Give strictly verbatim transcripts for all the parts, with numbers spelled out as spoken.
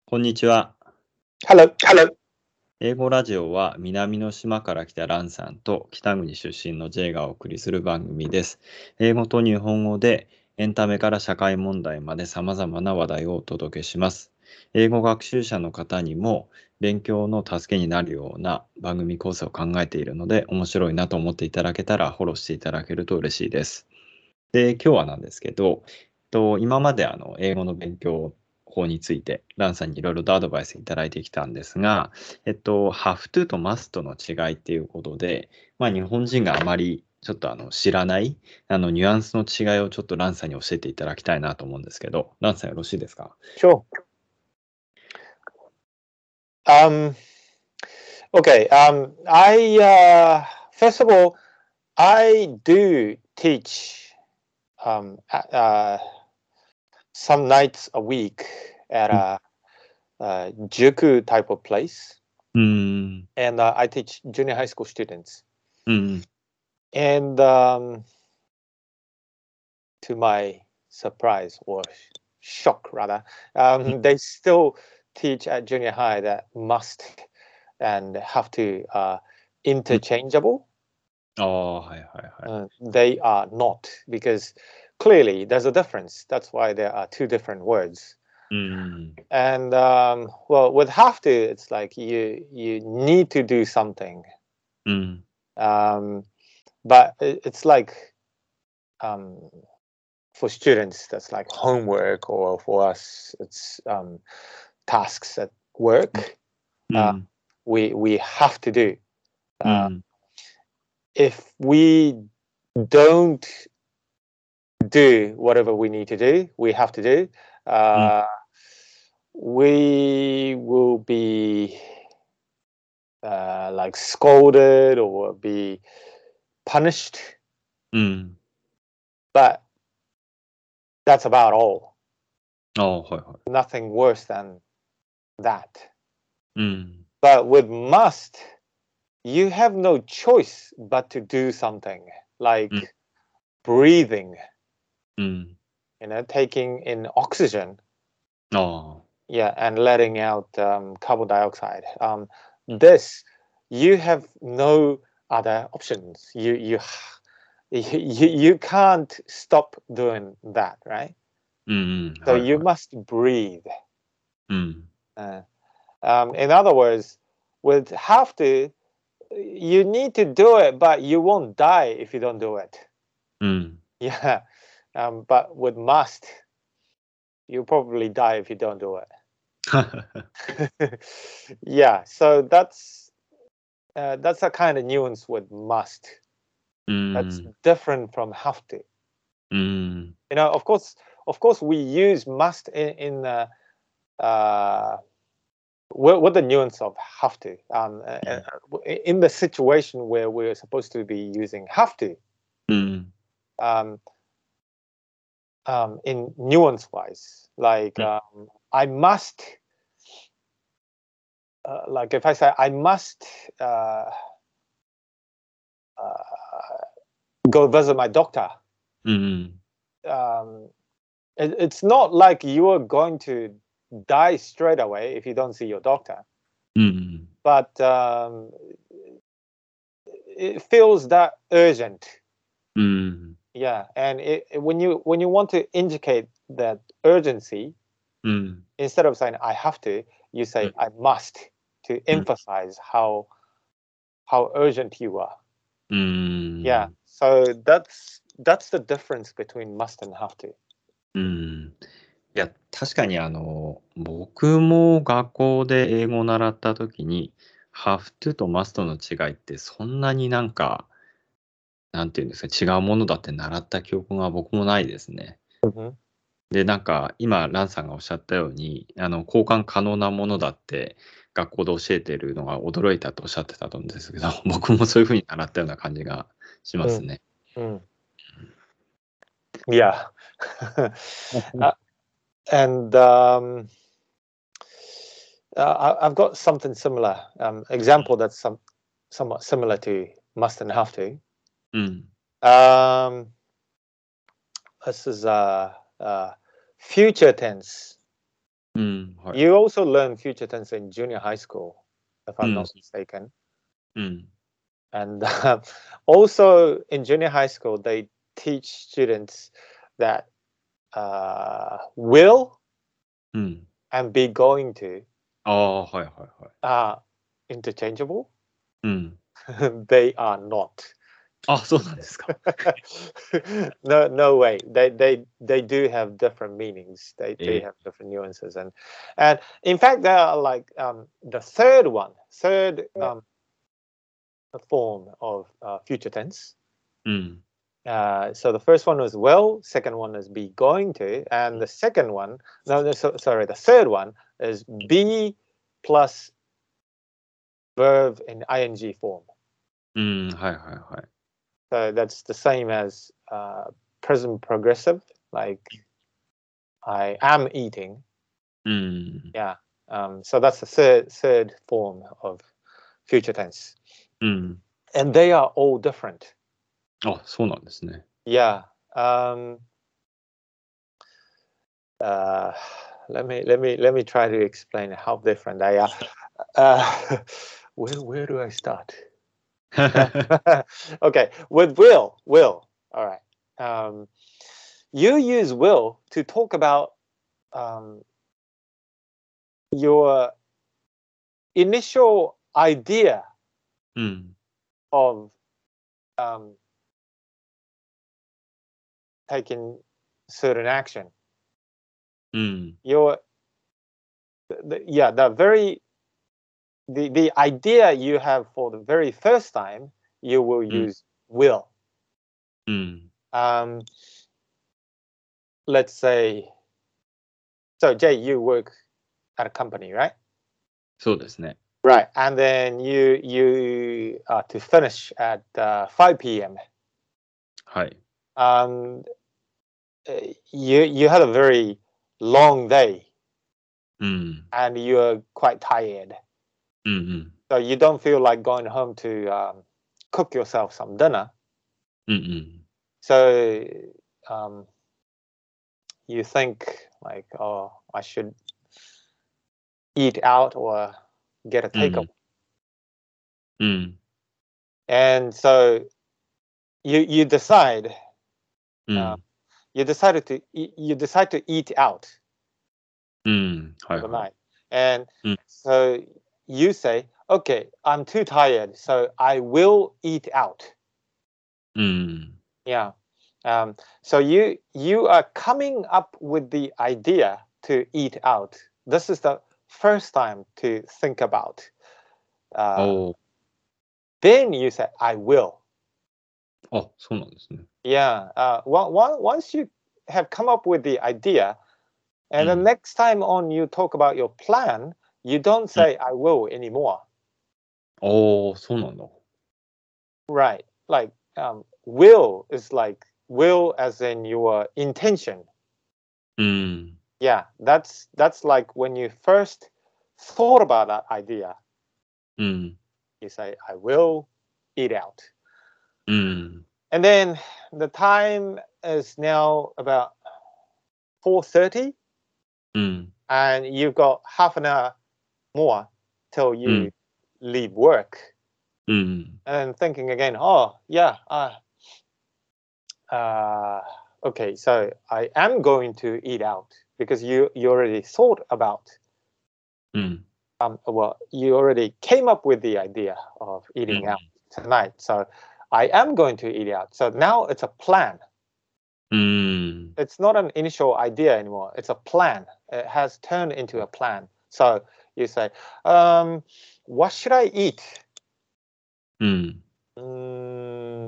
こんにちは。 Hello. Hello. 英語ラジオは南の島から来たランさんと北国出身の J がお送りする番組です。英語と日本語でエンタメから社会問題まで様々な話題をお届けします。英語学習者の方にも勉強の助けになるような番組構成を考えているので、面白いなと思っていただけたらフォローしていただけると嬉しいです。で、今日はなんですけど、えっと、今まであの英語の勉強法について、ランさんにいろいろとアドバイスいただいてきたんですが、えっと、have to と must の違いっていうことで、まあ、日本人があまりちょっとあの知らないあのニュアンスの違いをちょっとランさんに教えていただきたいなと思うんですけど、ランさんよろしいですか？ Sure. Um, okay. Um, I uh, first of all, I do teach um, a- uh, some nights a week at うん a, uh juku type of place, うーん、 and uh, I teach junior high school students. うん、 And um, to my surprise or shock, rather, うん、 um, they still teach at junior high that must and have to uh, うん。 interchangeable. ああ、はいはいはい。 Uh, they are not, because clearly there's a difference. That's why there are two different words. うん、 And um, well, with have to, it's like you you need to do something. うん、 Um, but it- it's like um, for students, that's like homework, or for us, it's um, tasks at うん、 work. う Uh, ん、 we we have to do. う Uh, ん、 if we don't do whatever we need to do, we have to do, うん、 uh, we will be uh, like scolded or be punished. うん。 But that's about all. ああ、はいはい。 Nothing worse than that. うん、 But with must, you have no choice but to do something うん、 like breathing, うん。 you know, taking in oxygen, ああ。 yeah, and letting out um, carbon dioxide. Um, this, you have no other options. You you you you can't stop doing that, right? うんうん。 So はい you はい。 must breathe. うん。 Uh, um, in other words, with have to, you need to do it, but you won't die if you don't do it. うん。 Yeah. Um, but with must, you probably die if you don't do it. Yeah. So that's uh, that's a kind of nuance with must. う That's ん。 different from have to. うん。 You know, of course, of course, we use must in, in uh, uh, with, with the nuance of have to. Um, uh, うん。 uh, in the situation where we're supposed to be using have to, うん。 um, um, in nuance wise, like うん。 um, I must, uh, like if I say I must uh, uh, go visit my doctor, うん。 um, it, it's not like you are going to die straight away if you don't see your doctor, うん。 but um, it feels that urgent. うん。 Yeah, and it, it- when you when you want to indicate that urgency, うん。 instead of saying I have to, you う say ん。 I must to うん。 emphasize how how urgent you are. う Yeah, ん。 so that's that's the difference between must and have to. うん。いや、確かにあの、僕も学校で英語を習った時に、have to と must の違いってそんなになんか、なんていうんですか、違うものだって習った記憶が僕もないですね。 Mhm. で、なんか、今、ランさんがおっしゃったように、あの、交換可能なものだって学校で教えてるのが驚いたとおっしゃってたと思うんですけど、僕もそういうふうに習ったような感じがします Mm, ね。 mm. Yeah. Uh, and um, uh, I- I've got something similar, um, example that's some somewhat similar to must and have to. うん。 Um, this is uh, uh, future tense. うん、はい。 You also learn future tense in junior high school, if う I'm ん、 not mistaken. うん、 And uh, also in junior high school, they teach students that uh, will うん。 and be going to ああ、はいはいはい。 are interchangeable. うん。 They are not. あ、そうなんですか。 no, no way. They, they, they do have different meanings. They, they え have different nuances, and, and in fact, there are like um, the third one, third um, form of uh, future tense. ー、うん。 Uh, so the first one was will, second one is be going to, and the second one, no, no so, sorry, the third one is be plus verb in ing form. うん、はいはいはい。 So that's the same as uh, present progressive, like I am eating. うん。 Yeah. Um, so that's the third third form of future tense, うん。 and they are all different. あ、そうなんですね。 Yeah. Um, uh, let me let me let me try to explain how different they are. Uh, where where do I start? Okay, with will, will. All right. Um, you use will to talk about um, your initial idea うん。 of um, taking certain action. うん。 Your the, yeah, the very the the idea you have for the very first time, you will うん。 use will. うん。 Um, let's say, so Jay, you work at a company, right? そうですね。 Right, and then you you uh, to finish at uh, five p m. はい。 Um, uh, you you had a very long day うん。 and you're quite tired, うんうん。 so you don't feel like going home to um, cook yourself some dinner. うんうん。 So um, you think like, oh, I should eat out or get a うん。 takeaway, うん。 and so you you decide う uh, ん。 you decided to eat, you decide to eat out うん。は for い the はい。 night, and うん。 so you say, okay, I'm too tired, so I will eat out. うん。 Yeah. Um, so you you are coming up with the idea to eat out. This is the first time to think about. Uh, おー。 then you say, I will. あ、そうなんですね。 Yeah. Uh, one, one, once you have come up with the idea, う and the ん。 next time on you talk about your plan, you don't うん。 say, I will anymore. おー、そうなんだ。 Right. Like um, will is like will as in your intention. うん。 Yeah, that's that's like when you first thought about that idea, うん。 you say, I will eat out. うん。 And then the time is now about four thirty, うん。 and you've got half an hour more till う you ん。 leave work. うん。 And then thinking again, oh yeah, uh, uh, okay, so I am going to eat out because you you already thought about うん。 um, well, you already came up with the idea of う eating ん。 out tonight. So I am going to eat out. So now it's a plan. うん。 It's not an initial idea anymore. It's a plan. It has turned into a plan. So you say, um, what should I eat? うん。 Mm,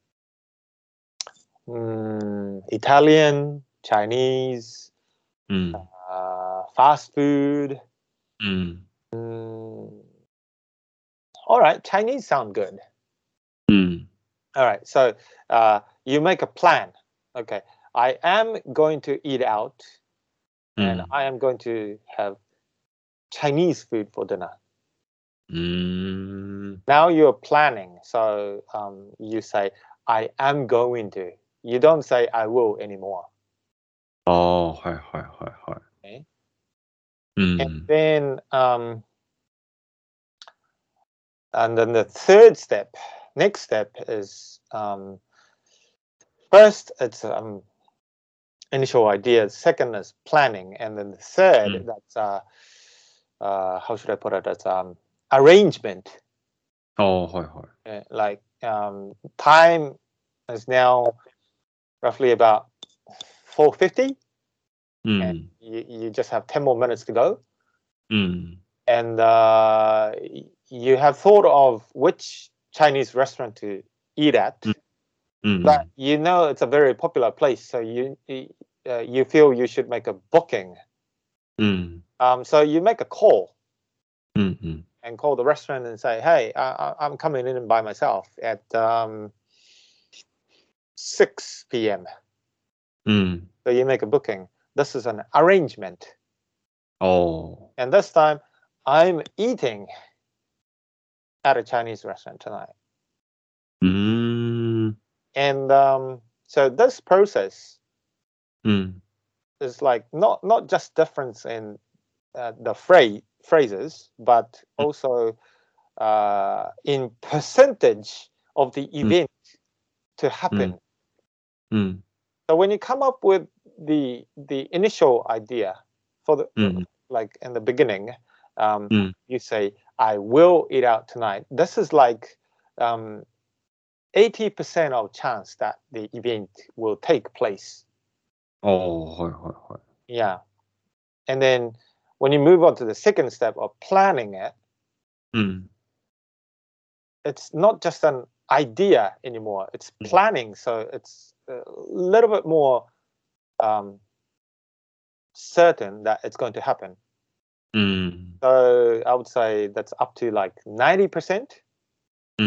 mm, Italian, Chinese, うん。 uh, fast food. うん。 Mm, all right, Chinese sound good. うん。 All right, so uh, you make a plan. Okay, I am going to eat out, う and ん。 I am going to have Chinese food for dinner. うーん。 Now you're planning, so um, you say, I am going to. You don't say, I will anymore. ああ、はいはいはいはい。 Okay? うん。 And then, um, and then the third step, next step is um, first it's um, initial ideas, second is planning, and then the third Mm. that's uh, uh, how should I put it? That's um, arrangement. ああ、はいはい。 Uh, Like um, time is now roughly about four fifty, う and ん。 you, you just have ten more minutes to go. うん。 And uh, y- you have thought of which Chinese restaurant to eat at, うん。 but you know it's a very popular place, so you y- uh, you feel you should make a booking. うん。 Um, so you make a call うん。うん。 and call the restaurant and say, "Hey, I, I- I'm coming in by myself at um, six p m" うん。 So you make a booking. This is an arrangement, ああ。 and this time I'm eating at a Chinese restaurant tonight. うーん。 And um, so this process うん。 is like not not just difference in uh, the phrase phrases, but also uh, in percentage of the event to う happen. ん。うん。 So when you come up with the the initial idea for the うん。 like in the beginning, um, うん。 you say, "I will eat out tonight." This is like um, eighty percent of chance that the event will take place. ああ、はいはいはい。 Yeah. And then when you move on to the second step of planning it, うん。 it's not just an idea anymore. It's Mm. planning. So it's a little bit more um, certain that it's going to happen. うん。 So I would say that's up to like ninety percent. うん。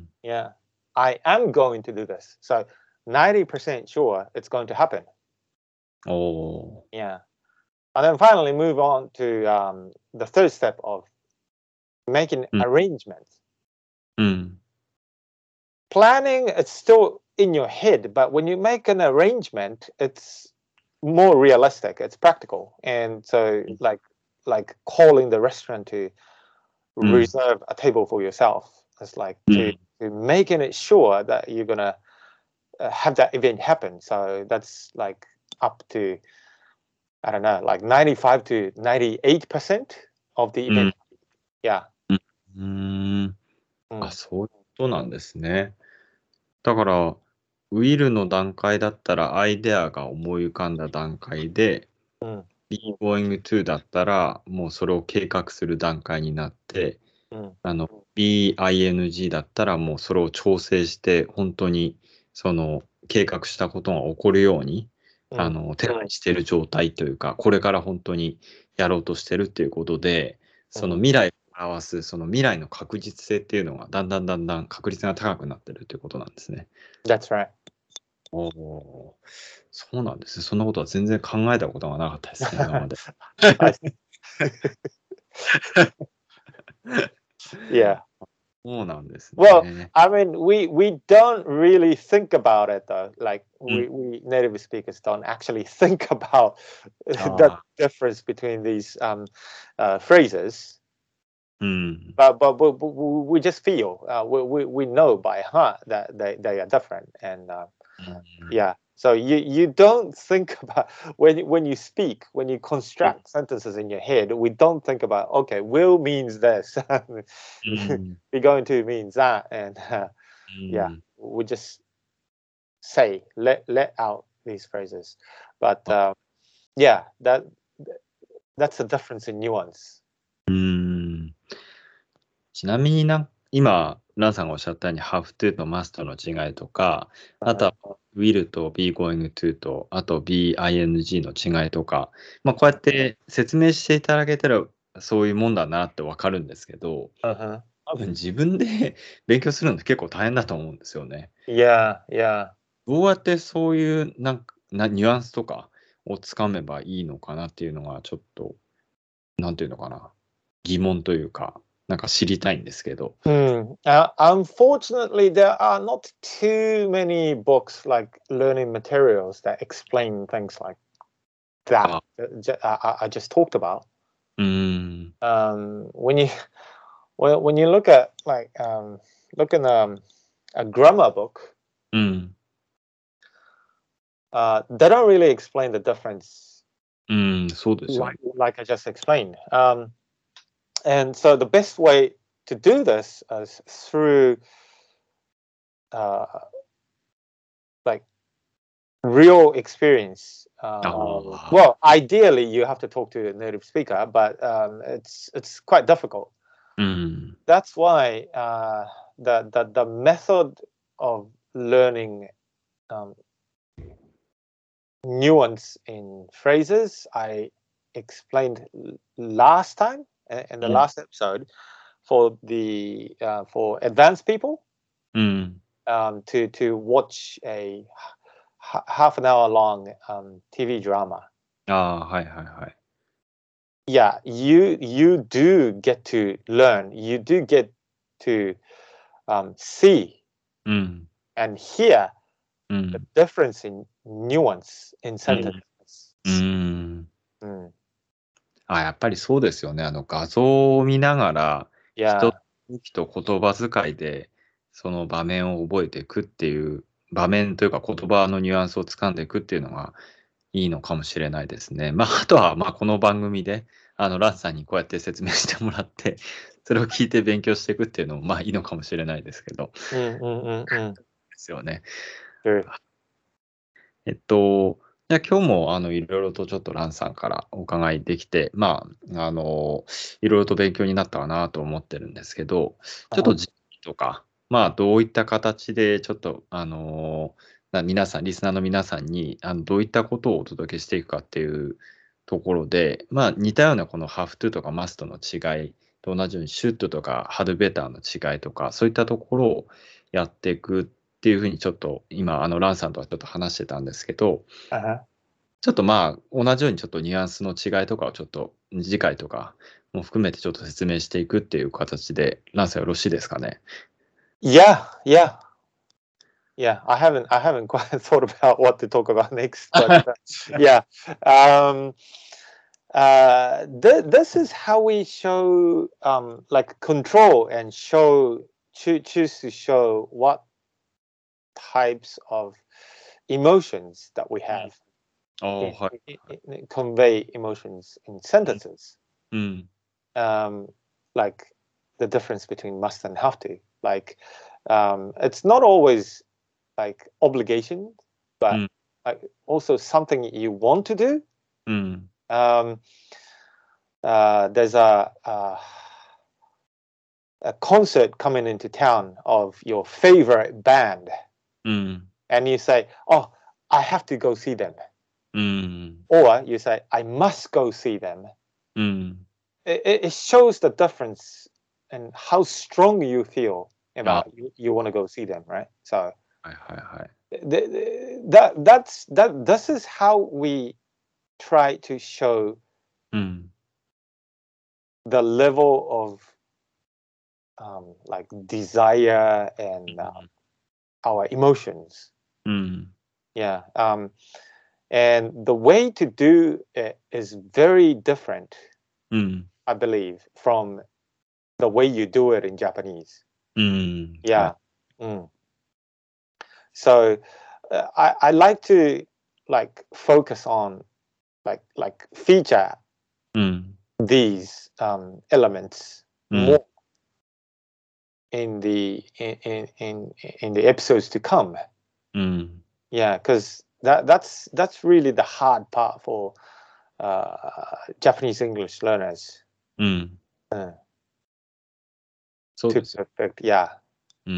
Yeah. I am going to do this. So ninety percent sure it's going to happen. おお。 Yeah. And then finally move on to um, the third step of making Mm. arrangements. うん。 Planning, it's still in your head, but when you make an arrangement, it's more realistic, it's practical. And so Mm. like like calling the restaurant to Mm. reserve a table for yourself. It's like to, Mm. to making it sure that you're gonna uh, have that event happen. So that's like up to I don't know, like ninety-five to ninety-eight percent of the うん。 event. Yeah. うーん。あ、 Mm. そういうことなんですね。だから、ウィルの段階だったらアイデアが思い浮かんだ段階で、 Mm. be going to だったらもうそれを計画する段階になって、 Mm. あの bing だったらもうそれを調整して本当にその計画したことが起こるように、 あ Mm. の手配してる状態というか、これから本当にやろうとしてるっていうことで、その Mhm. 未来を表すその未来の確実性っていうのがだんだんだんだん確率が高くなってるっていうことなんですね。 That's right. おお、そうなんですね。そんなことは全然考えたことがなかったですね、今まで。 I Yeah. そうなんです Well, ね。 I mean, we we don't really think about it though. Like we, Mm. we native speakers don't actually think about the Ah. difference between these um, uh, phrases. うん。 But but, but, but we just feel uh, we, we we know by heart that they, they are different. And uh, うん yeah, so you you don't think about when you- when you speak, when you construct sentences in your head, we don't think about, okay, will means this, うん be going to means that, and uh, う yeah, ん we just say let let out these phrases. But Ah. uh, yeah, that that's a difference in nuance. うーん。ちなみにな、今、ランさんがおっしゃったように、have to と must の違いとか、あと Uh-huh. は will と be going to と、あと bing の違いとか、まあ、こうやって説明していただけたら、そういうもんだなってわかるんですけど、 Uh-huh. 多分自分で勉強するのって結構大変だと思うんですよね。 Yeah, yeah. どうやってそういうなんかなニュアンスとかをつかめばいいのかなっていうのがちょっと、なんていうのかな、疑問というか、なんか知りたいんですけど。 Hmm. Uh, unfortunately, there are not too many books like learning materials that explain things like that Ah. uh, ju- I, I- I just talked about. Mm. Um, when you well, when you look at like um, look in um, a grammar book, Mm. uh, they don't really explain the difference うん、そうですよね。 like like I just explained. Um, and so the best way to do this is through uh, like real experience. Um, ああ。 well, ideally, you have to talk to a native speaker, but um, it's it's quite difficult. うん。 That's why uh, the, the the method of learning um, nuance in phrases I explained l- last time uh, in the うん。 last episode for the uh, for advanced people うん。 um, to to watch a h- half an hour long um, T V drama. ああ、はいはいはい。 Yeah, you you do get to learn. You do get to um, see うん。 and hear う the ん。 difference in nuance in うん。 sentences. うん。 Mm. あ、やっぱりそうですよね。あの画像を見ながら、人 Yeah, の動きと言葉遣いで、その場面を覚えていくっていう、場面というか言葉のニュアンスをつかんでいくっていうのがいいのかもしれないですね。まあ、あとは、まあ、この番組で、あの、ランさんにこうやって説明してもらって、それを聞いて勉強していくっていうのも、まあ、いいのかもしれないですけど、で mm, mm, mm, mm. すよね。 True. えっと、じゃあ今日もあのいろいろとちょっとランさんからお伺いできて、まあ、あの、いろいろと勉強になったかなと思ってるんですけど、ちょっ Uh-huh. と時期とか、まあ、どういった形で、ちょっと、あの、な皆さん、リスナーの皆さんに、あの、どういったことをお届けしていくかっていうところで、まあ、似たようなこの have to とか must の違いと同じように should とか had better の違いとか、そういったところをやっていくっていうふうにちょっと今、あの、ランさんとはちょっと話してたんですけど、 Uh-huh. ちょっとまあ、同じようにちょっとニュアンスの違いとかをちょっと次回とかも含めてちょっと説明していくっていう形で、ランさんよろしいですかね。 Yeah, yeah, yeah. I haven't I haven't quite thought about what to talk about next, but uh, yeah. Um, uh, th- this is how we show um, like control and show choo- choose to show what types of emotions that we have ああ、 in, はい。 in, in- convey emotions in sentences. うん、 Um, like the difference between must and have to. Like um, it's not always like obligation, う but ん、 like also something you want to do. うん、 Um, uh, there's a, a a concert coming into town of your favorite band, うん、 and you say, "Oh, I have to go see them," うん、 or you say, "I must go see them." うん、 It, it it shows the difference and how strong you feel あ、 about you, you want to go see them, right? So はいはいはい。 th- th- that that's that this is how we try to show うん、 the level of um, like desire and uh, our emotions. うん、 Yeah. Um, and the way to do it is very different, うん、 I believe, from the way you do it in Japanese. うん、は Yeah. い。 Mm. So uh, I, I like to like focus on like like feature うん、 these um, elements うん、 more in the in, in in in the episodes to come. うん、 Yeah, because that that's that's really the hard part for uh, Japanese English learners うん、 uh, そう to ですよ。 perfect. Yeah. うん。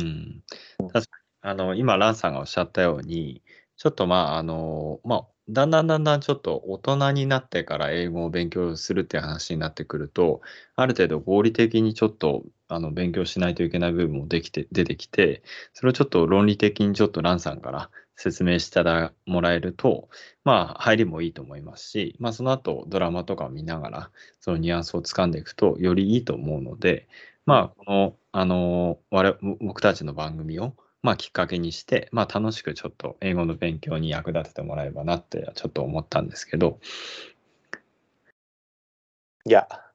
確かに、あの、今、ランさんがおっしゃったように、ちょっとまあ、あの、まあ、だんだんだんだんちょっと大人になってから英語を勉強するっていう話になってくると、ある程度合理的にちょっとあの勉強しないといけない部分もできて、出てきて、それをちょっと論理的にちょっとランさんから説明してもらえると、まあ、入りもいいと思いますし、まあ、その後ドラマとかを見ながら、そのニュアンスをつかんでいくと、よりいいと思うので、まあ、この、あの、我々、僕たちの番組を、まあ、きっかけにして、まあ、楽しくちょっと英語の勉強に役立ててもらえばなってちょっと思ったんですけど。 Yeah.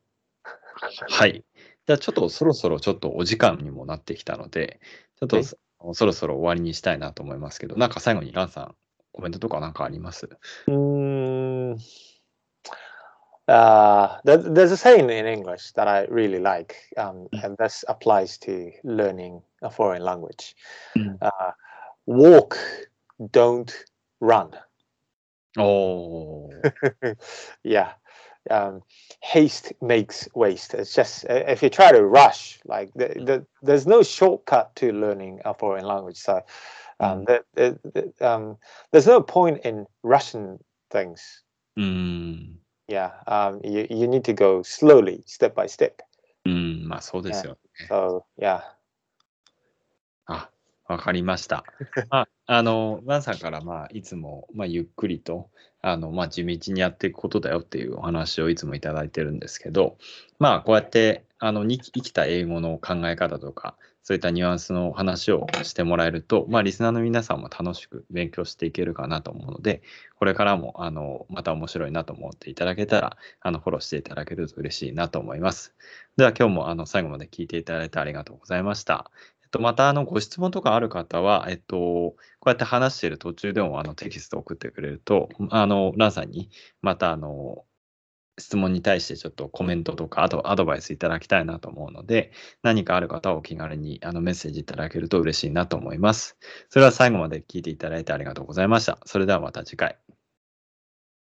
はい。じゃあちょっとそろそろちょっとお時間にもなってきたので、ちょっとそそろそろ終わりにしたいなと思いますけど、なんか最後にランさん、コメントとかなんかあります？ Mm, uh, there, there's a saying in English that I really like, um, and this applies to learning a foreign language. うん。 Uh, walk, don't run. おー。 Yeah. Um, haste makes waste. It's just uh, if you try to rush, like the, the, there's no shortcut to learning a foreign language. So う um, ん。 the, the, the, um, there's no point in rushing things. うーん。 Yeah, um, you, you need to go slowly, step by step. うん、まあそうです Yeah. よね。 So yeah. あ、わかりました。まあ、あの、ワンさんから、まあ、いつも、まあ、ゆっくりと、あの、まあ、地道にやっていくことだよっていうお話をいつもいただいてるんですけど、まあ、こうやって、あの、に生きた英語の考え方とか、そういったニュアンスの話をしてもらえると、まあ、リスナーの皆さんも楽しく勉強していけるかなと思うので、これからも、あの、また面白いなと思っていただけたら、あの、フォローしていただけると嬉しいなと思います。では、今日も、あの、最後まで聞いていただいてありがとうございました。えっと、また、あの、ご質問とかある方は、えっと、こうやって話している途中でも、あの、テキストを送ってくれると、あの、ランさんに、また、あの、質問に対してちょっとコメントとか、あとアドバイスいただきたいなと思うので、何かある方はお気軽にあのメッセージいただけると嬉しいなと思います。それでは最後まで聞いていただいてありがとうございました。それではまた次回。